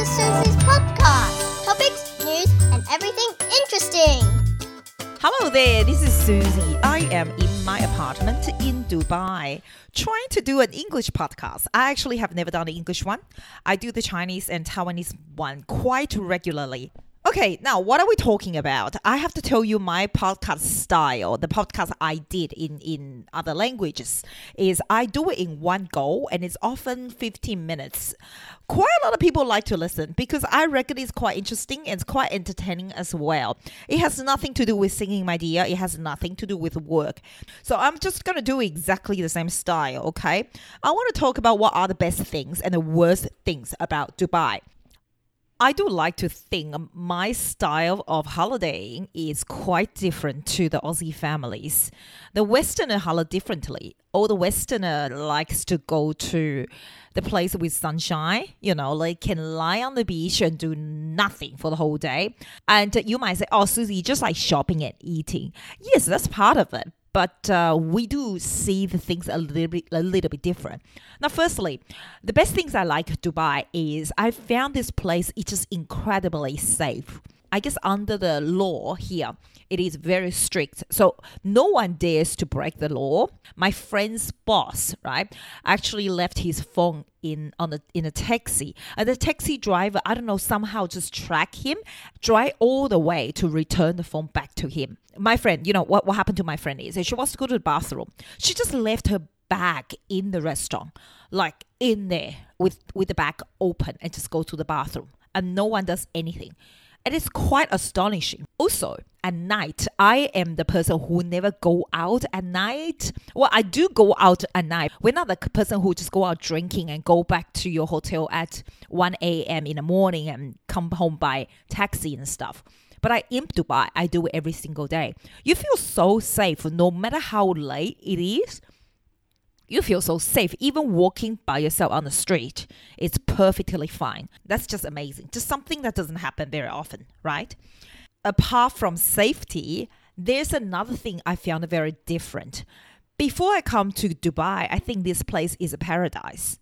to Susie's podcast. Topics, news, and everything interesting. Hello there, this is Susie. I am in my apartment in Dubai trying to do an English podcast. I actually have never done an English one. I do the Chinese and Taiwanese one quite regularly. Okay, now what are we talking about? I have to tell you my podcast style. The podcast I did in other languages is I do it in one go and it's often 15 minutes. Quite a lot of people like to listen because I reckon it's quite interesting and it's quite entertaining as well. It has nothing to do with singing, my dear. It has nothing to do with work. So I'm just going to do exactly the same style, okay? I want to talk about what are the best things and the worst things about Dubai. I do like to think my style of holidaying is quite different to the Aussie families. The Westerner holiday differently. All the Westerner likes to go to the place with sunshine, like can lie on the beach and do nothing for the whole day. And you might say, oh, Susie, just like shopping and eating. Yes, that's part of it. But we do see the things a little bit different. Now, firstly, the best things I like Dubai is I found this place is just incredibly safe. I guess under the law here, it is very strict. So no one dares to break the law. My friend's boss, right, actually left his phone in a taxi. And the taxi driver, I don't know, somehow just tracked him, drive all the way to return the phone back to him. My friend, what happened to my friend is she wants to go to the bathroom. She just left her bag in the restaurant, like in there with the bag open and just go to the bathroom. And no one does anything. And it's quite astonishing. Also, at night, I am the person who never go out at night. Well, I do go out at night. We're not the person who just go out drinking and go back to your hotel at 1 a.m. in the morning and come home by taxi and stuff. But in Dubai, I do it every single day. You feel so safe no matter how late it is. You feel so safe. Even walking by yourself on the street, it's perfectly fine. That's just amazing. Just something that doesn't happen very often, right? Apart from safety, there's another thing I found very different. Before I come to Dubai, I think this place is a paradise.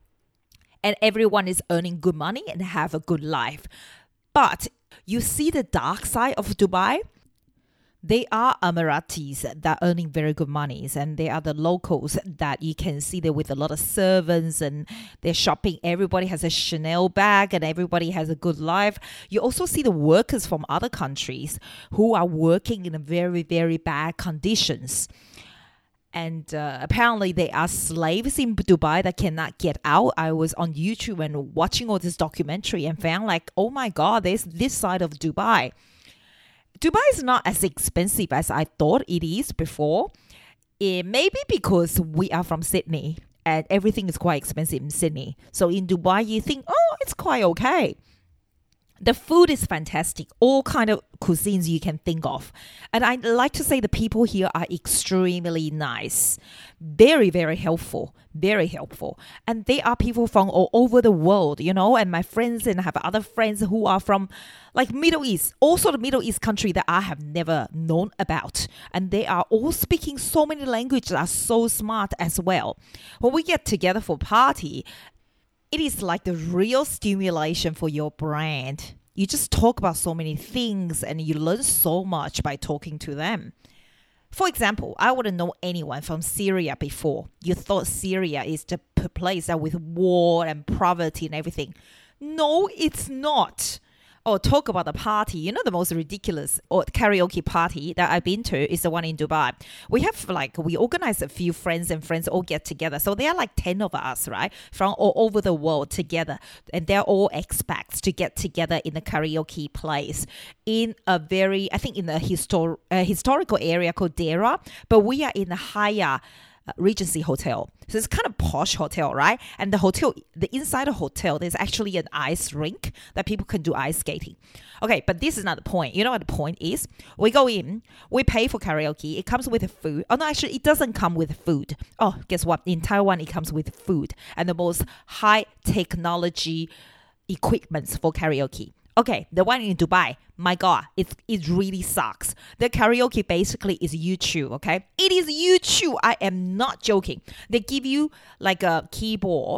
And everyone is earning good money and have a good life. But you see the dark side of Dubai? They are Emiratis that are earning very good monies, and they are the locals that you can see there with a lot of servants and they're shopping. Everybody has a Chanel bag and everybody has a good life. You also see the workers from other countries who are working in very, very bad conditions. And apparently they are slaves in Dubai that cannot get out. I was on YouTube and watching all this documentary and found like, oh my God, there's this side of Dubai. Dubai is not as expensive as I thought it is before. Maybe because we are from Sydney and everything is quite expensive in Sydney. So in Dubai, you think, oh, it's quite okay. The food is fantastic, all kind of cuisines you can think of. And I like to say the people here are extremely nice, very, very helpful, very helpful. And they are people from all over the world, and my friends and I have other friends who are from like Middle East, also the Middle East country that I have never known about. And they are all speaking so many languages that are so smart as well. When we get together for party, it is like the real stimulation for your brand. You just talk about so many things and you learn so much by talking to them. For example, I wouldn't know anyone from Syria before. You thought Syria is the place that with war and poverty and everything. No, it's not. Or talk about the party. The most ridiculous or karaoke party that I've been to is the one in Dubai. We organize a few friends all get together. So there are like 10 of us, right? From all over the world together. And they're all expats to get together in a karaoke place in a very, I think in a historical area called Deira. But we are in a higher Regency Hotel. So it's kind of posh hotel, right? And the inside the hotel, there's actually an ice rink that people can do ice skating. Okay, but this is not the point. You know what the point is? We go in, we pay for karaoke. It comes with food. Oh, no, actually, it doesn't come with food. Oh, guess what? In Taiwan, it comes with food and the most high technology equipments for karaoke. Okay, the one in Dubai, my God, it really sucks. The karaoke basically is YouTube, okay? It is YouTube. I am not joking. They give you like a keyboard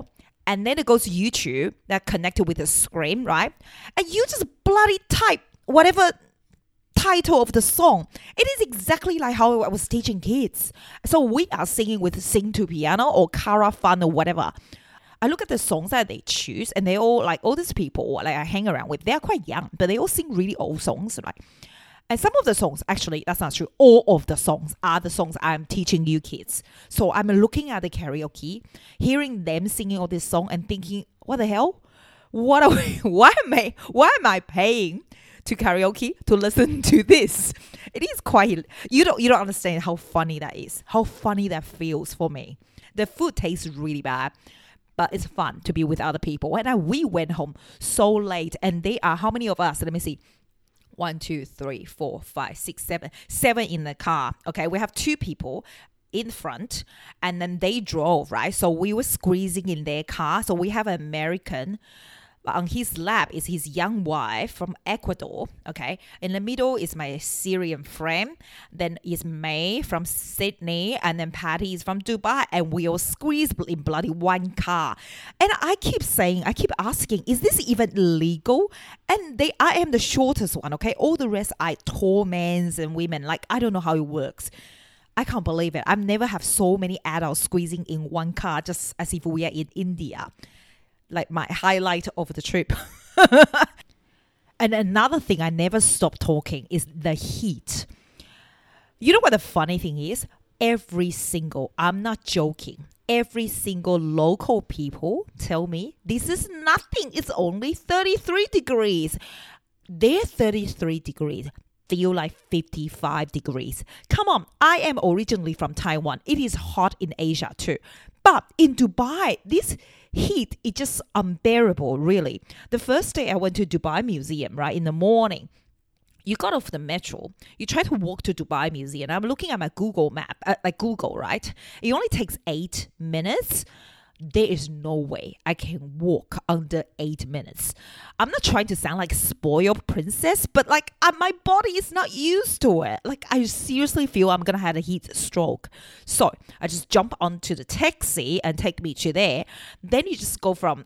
and then it goes to YouTube that connected with the screen, right? And you just bloody type whatever title of the song. It is exactly like how I was teaching kids. So we are singing with Sing to Piano or Cara Fun or whatever. I look at the songs that they choose, and they all like all these people like I hang around with. They're quite young, but they all sing really old songs, right? And some of the songs, actually, that's not true. All of the songs are the songs I'm teaching you kids. So I'm looking at the karaoke, hearing them singing all this song, and thinking, what the hell? What are we? Why am I paying to karaoke to listen to this? It is quite. You don't understand how funny that is. How funny that feels for me. The food tastes really bad, but it's fun to be with other people. And we went home so late, and they are how many of us? Let me see. 1, 2, 3, 4, 5, 6, 7. 7 in the car. Okay, we have 2 people in front, and then they drove, right? So we were squeezing in their car. So we have an American. On his lap is his young wife from Ecuador, okay? In the middle is my Syrian friend. Then is May from Sydney. And then Patty is from Dubai. And we all squeezed in bloody one car. And I keep asking, is this even legal? And I am the shortest one, okay? All the rest are tall men and women. Like, I don't know how it works. I can't believe it. I've never have so many adults squeezing in one car, just as if we are in India. Like my highlight of the trip. And another thing I never stop talking is the heat. You know what the funny thing is? I'm not joking, every single local people tell me this is nothing. It's only 33 degrees. Their 33 degrees feel like 55 degrees. Come on, I am originally from Taiwan. It is hot in Asia too. But in Dubai, this heat is just unbearable, really. The first day I went to Dubai Museum, right, in the morning, you got off the metro, you try to walk to Dubai Museum. I'm looking at my Google map, like Google, right? It only takes 8 minutes. There is no way I can walk under 8 minutes. I'm not trying to sound like a spoiled princess, but like my body is not used to it. Like I seriously feel I'm going to have a heat stroke. So I just jump onto the taxi and take me to there. Then I just go from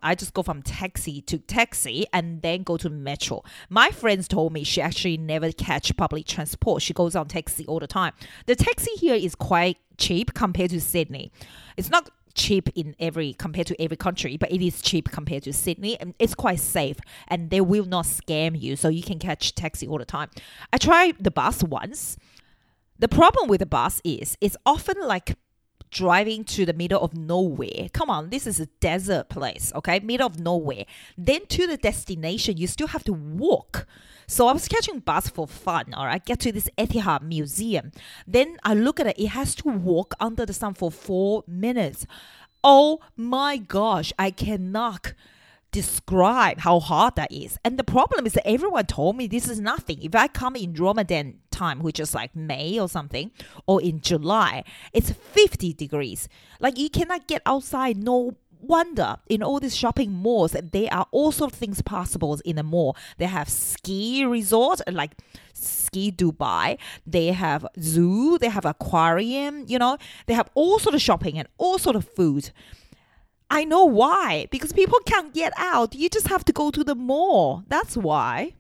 taxi to taxi and then go to metro. My friends told me she actually never catch public transport. She goes on taxi all the time. The taxi here is quite cheap compared to Sydney. It's not cheap compared to every country, but it is cheap compared to Sydney, and it's quite safe, and they will not scam you, so you can catch taxi all the time. I tried the bus once. The problem with the bus is it's often like driving to the middle of nowhere. Come on, this is a desert place, okay? Middle of nowhere. Then to the destination, you still have to walk. So I was catching bus for fun, all right? Get to this Etihad Museum. Then I look at it. It has to walk under the sun for 4 minutes. Oh my gosh, I cannot describe how hard that is. And the problem is that everyone told me this is nothing. If I come in Ramadan time, which is like May or something, or in July, it's 50 degrees. Like you cannot get outside, no wonder. In all these shopping malls, there are all sorts of things possible in the mall. They have ski resort like Ski Dubai. They have zoo. They have aquarium. You know, they have all sort of shopping and all sort of food. I know why. Because people can't get out. You just have to go to the mall. That's why.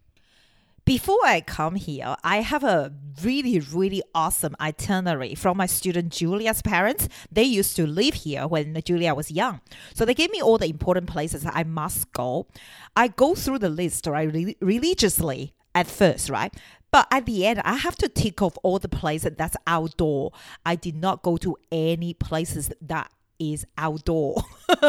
Before I come here, I have a really, really awesome itinerary from my student Julia's parents. They used to live here when Julia was young. So they gave me all the important places that I must go. I go through the list, right, religiously at first, right? But at the end, I have to tick off all the places that's outdoor. I did not go to any places that is outdoor.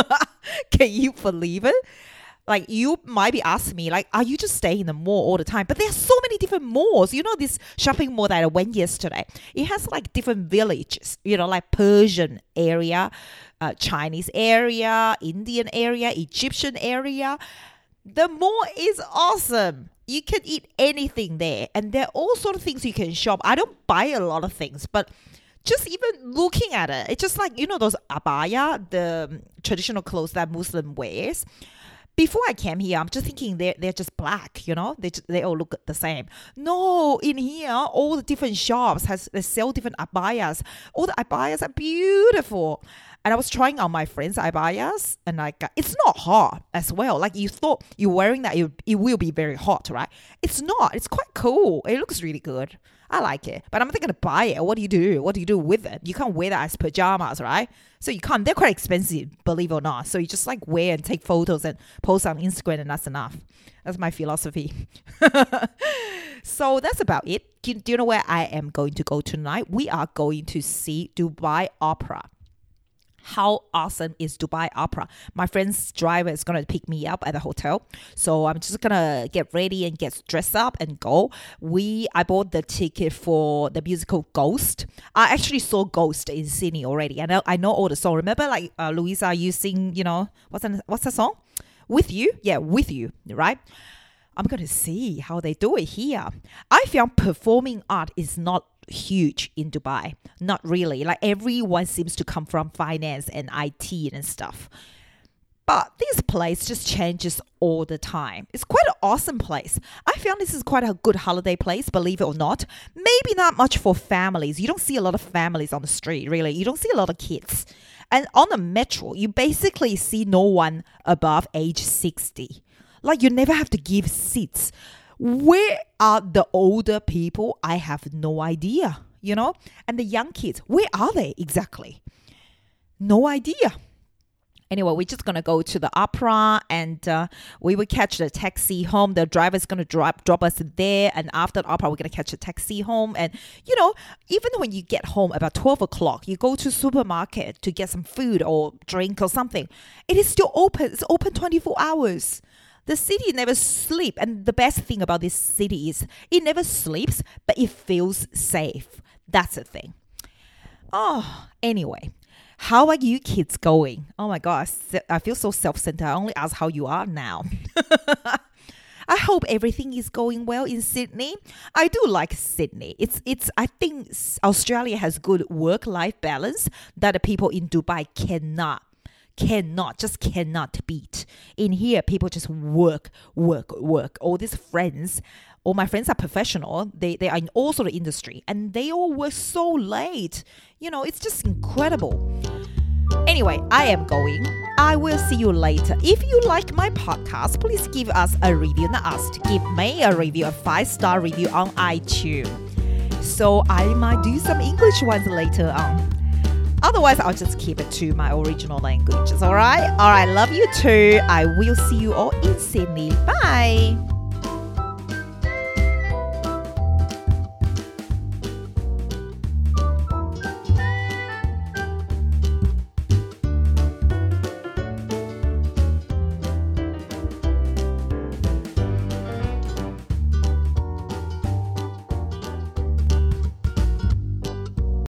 Can you believe it? Like, you might be asking me, like, are you just staying in the mall all the time? But there are so many different malls. You know, this shopping mall that I went yesterday, it has like different villages, you know, like Persian area, Chinese area, Indian area, Egyptian area. The mall is awesome. You can eat anything there. And there are all sorts of things you can shop. I don't buy a lot of things, but just even looking at it, it's just like, you know, those abaya, the traditional clothes that Muslim wears. Before I came here, I'm just thinking they're just black, you know? They all look the same. No, in here, all the different shops they sell different abayas. All the abayas are beautiful. And I was trying on my friend's abayas, and it's not hot as well. Like you thought you're wearing that, it will be very hot, right? It's not. It's quite cool. It looks really good. I like it. But I'm thinking to buy it. What do you do? What do you do with it? You can't wear that as pajamas, right? So you can't. They're quite expensive, believe it or not. So you just like wear and take photos and post on Instagram, and that's enough. That's my philosophy. So that's about it. Do you know where I am going to go tonight? We are going to see Dubai Opera. How awesome is Dubai Opera? My friend's driver is going to pick me up at the hotel. So I'm just going to get ready and get dressed up and go. I bought the ticket for the musical Ghost. I actually saw Ghost in Sydney already. I know all the songs. Remember like Louisa, you sing, what's the song? With You? Yeah, With You, right? I'm going to see how they do it here. I found performing art is not huge in Dubai. Not really. Like everyone seems to come from finance and IT and stuff. But this place just changes all the time. It's quite an awesome place. I found this is quite a good holiday place, believe it or not. Maybe not much for families. You don't see a lot of families on the street, really. You don't see a lot of kids. And on the metro, you basically see no one above age 60. Like you never have to give seats. Where are the older people? I have no idea, And the young kids, where are they exactly? No idea. Anyway, we're just going to go to the opera and we will catch the taxi home. The driver's going to drop us there. And after the opera, we're going to catch a taxi home. And, even when you get home about 12 o'clock, you go to supermarket to get some food or drink or something. It is still open. It's open 24 hours. The city never sleeps. And the best thing about this city is it never sleeps, but it feels safe. That's the thing. Oh, anyway. How are you kids going? Oh my gosh, I feel so self-centered. I only ask how you are now. I hope everything is going well in Sydney. I do like Sydney. I think Australia has good work-life balance that the people in Dubai cannot beat. In here, people just work. All these friends, all my friends are professional. They are in all sort of industry and they all work so late. It's just incredible. Anyway, I am going. I will see you later. If you like my podcast, please give us a review. Not us, to give me a review, a 5-star review on iTunes. So I might do some English ones later on. Otherwise, I'll just keep it to my original languages, all right? All right, love you too. I will see you all in Sydney. Bye.